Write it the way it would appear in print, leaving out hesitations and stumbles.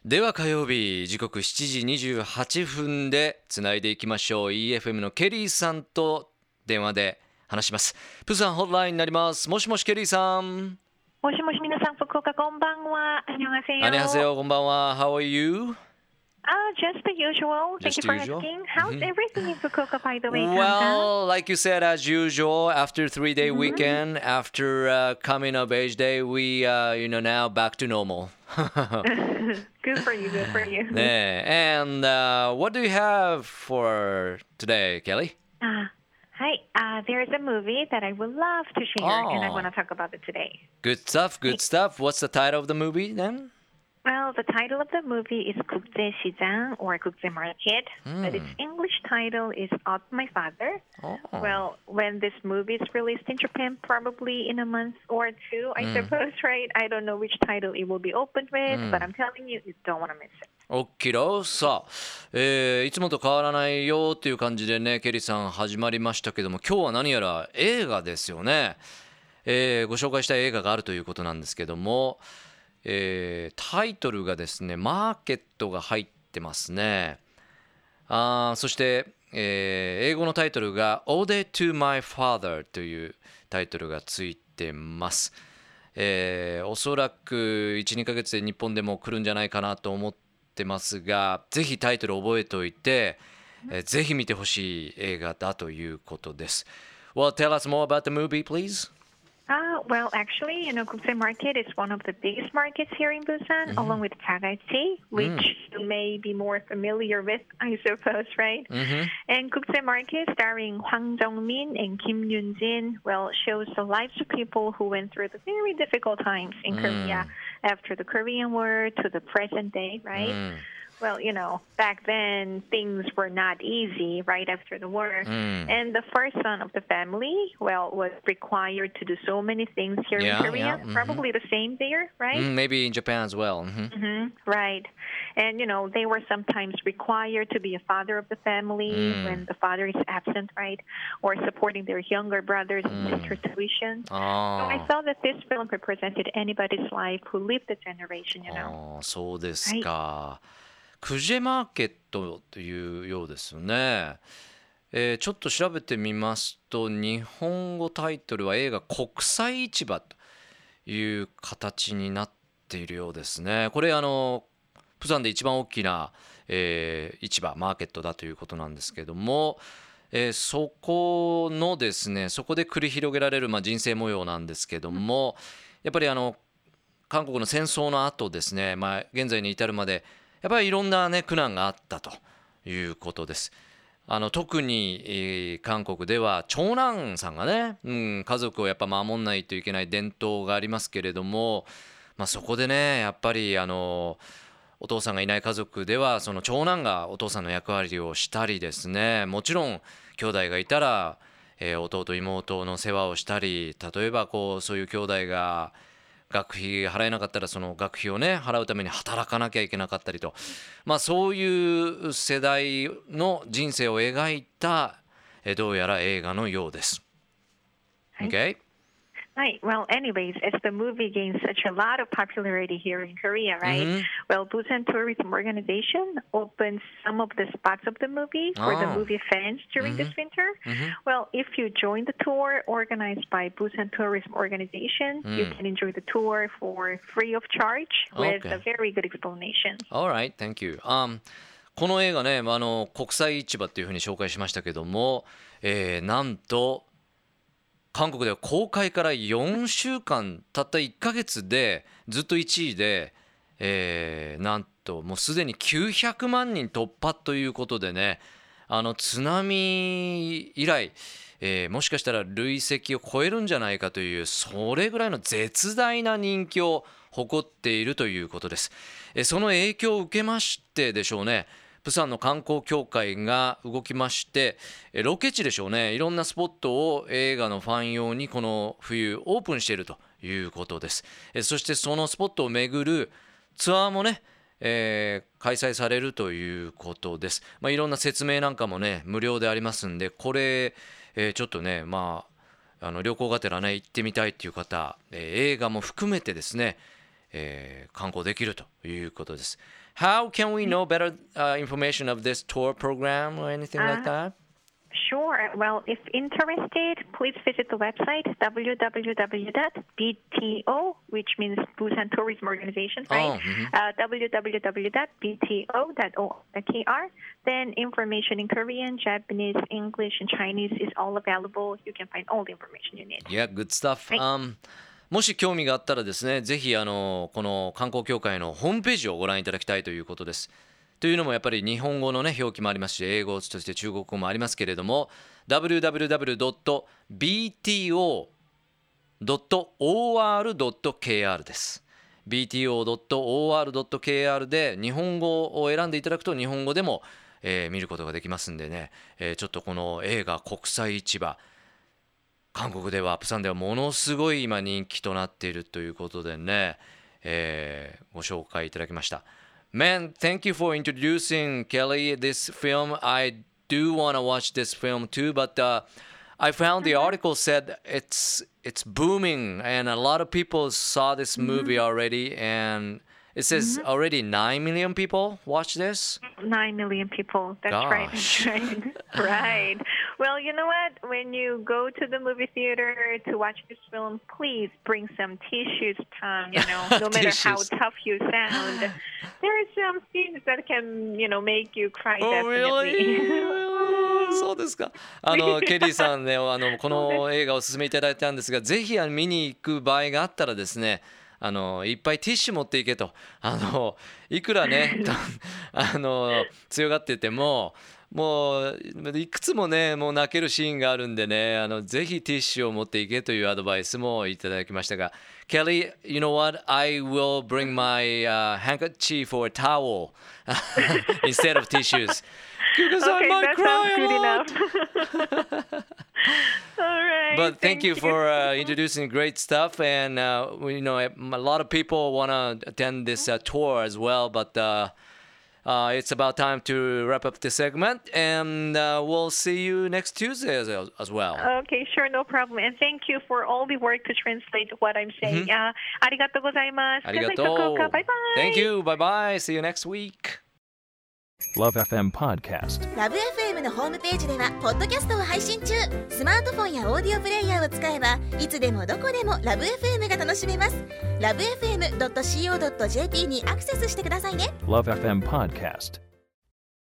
では火曜日時刻7時28分でつないでいきましょう。 EFM のケリーさんと電話で話します。プサンホットラインになります。もしもしケリーさん。 もしもし皆さん、福岡こんばんは。안녕하세요。 안녕하세요。こんばんは。How are you? Just the usual. Thank you for asking. How's everything in Fukuoka, by the way? Well, like you said, as usual, after 3-day weekend, after coming of age day, we, now back to normal. Good for you, good for you. And what do you have for today, Kelly? Hi, there's a movie that I would love to share, and I want to talk about it today. Good stuff, good stuff. What's the title of the movie then? Well, the title of the movie is 국제시장 or 국제market, but its English title is Of My Father. Well, when this movie is released in Japan, probably in a month or two, I suppose, right? I don't know which title it will be opened with, but I'm telling you, you don't want to miss it. OK だ。さあ、いつもと変わらないよっていう感じでね、ケリーさん始まりましたけども、今日は何やら映画ですよね。ご紹介したい映画があるということなんですけども、タイトルがですね、マーケットが入ってますね。そして、英語のタイトルが Ode to My Father というタイトルがついてます。おそらく 1,2 ヶ月で日本でも来るんじゃないかなと思ってますが、ぜひタイトル覚えておいて、ぜひ見てほしい映画だということです。Well, tell us more about the movie, please. Well, actually, Gukse Market is one of the biggest markets here in Busan, along with Chagachi, which you may be more familiar with, I suppose, right? And Gukse Market, starring Hwang Jung-min and Kim Yoon-jin, well, shows the lives of people who went through the very difficult times in Korea after the Korean War to the present day, right? Well, back then things were not easy right after the war. And the first son of the family, well, was required to do so many things here in Korea. Probably the same there, right? Maybe in Japan as well. Right. And, they were sometimes required to be a father of the family when the father is absent, right? Or supporting their younger brothers and sisters' tuition. So I thought that this film represented anybody's life who lived the generation, そうですか。クジェマーケットというようですね。ちょっと調べてみますと、日本語タイトルは映画国際市場という形になっているようですね。これプサンで一番大きな、市場マーケットだということなんですけども、そこのですね、そこで繰り広げられる、人生模様なんですけども、やっぱり韓国の戦争の後ですね、現在に至るまでやっぱりいろんなね苦難があったということです。特に、韓国では長男さんがね、家族をやっぱ守んないといけない伝統がありますけれども、そこでねやっぱりお父さんがいない家族ではその長男がお父さんの役割をしたりですね、もちろん兄弟がいたら、弟妹の世話をしたり、例えばそういう兄弟が学費払えなかったらその学費をね払うために働かなきゃいけなかったりと、そういう世代の人生を描いたどうやら映画のようです。Okay? Right. Well, anyways, as the movie gains such a lot of popularity here in Korea, right? Well, Busan Tourism Organization opens some of the spots of the movie for the movie fans during this winter. Well, if you join the tour organized by Busan Tourism Organization, you can enjoy the tour for free of charge with a very good explanation. All right, thank you. この映画ね、国際市場っていうふうに紹介しましたけども、なんと韓国では公開から4週間たった1ヶ月でずっと1位で、なんともうすでに900万人突破ということでね、津波以来、もしかしたら累積を超えるんじゃないかというそれぐらいの絶大な人気を誇っているということです。その影響を受けましてでしょうね、プサンの観光協会が動きまして、ロケ地でしょうね、いろんなスポットを映画のファン用にこの冬オープンしているということです。そしてそのスポットを巡るツアーもね、開催されるということです。いろんな説明なんかもね無料でありますんで、これ、ちょっとね旅行がてらね行ってみたいっていう方、映画も含めてですね、 観光できるということです。How can we know better information of this tour program or anything like that? Sure. Well, if interested, please visit the website www.bto, which means Busan Tourism Organization, right? www.bto.or.kr. Then information in Korean, Japanese, English, and Chinese is all available. You can find all the information you need. Yeah, good stuff. もし興味があったらですね、ぜひこの観光協会のホームページをご覧いただきたいということです。というのもやっぱり日本語のね表記もありますし、英語そして中国語もありますけれども、www.bto.or.kr です。bto.or.kr で日本語を選んでいただくと日本語でも、見ることができますんでね、ちょっとこの映画国際市場、韓国ではプサンではものすごい今人気となっているということでね、ご紹介いただきました。Man, thank you for introducing Kelly this film. I do want to watch this film too, but I found the article said it's booming and a lot of people saw this movie already, and it says already 9 million people watch this. 9 million people. That's right. That's right. Right. Well, you know what? When you go to the movie theater to watch this film, please bring some tissues, Tom. You know, no matter how tough you sound, there are some scenes that can, you know, make you cry. Oh, really? そうですか。ケリーさんね、この映画をお勧めいただいたんですが、ぜひ見に行く場合があったらですね、いっぱいティッシュ持っていけと、いくらね強がっててももういくつもねもう泣けるシーンがあるんでね、ぜひティッシュを持っていけというアドバイスもいただきましたが、 Kelly, you know what? I will bring my handkerchief or towel instead of tissues because I might cry a lot. All right. But thank you for introducing great stuff, and you know a lot of people want to attend this tour as well, but it's about time to wrap up this segment, and we'll see you next Tuesday as well. Okay, sure, no problem. And thank you for all the work to translate what I'm saying. ありがとうございます。 ありがとう。 Bye bye. Thank you. Bye bye. See you next week. Love FM Podcast。 ラブ FM のホームページではポッドキャストを配信中。スマートフォンやオーディオプレイヤーを使えばいつでもどこでもラブ FM が楽しめます。ラブ FM.co.jp にアクセスしてくださいね。 Love FM Podcast。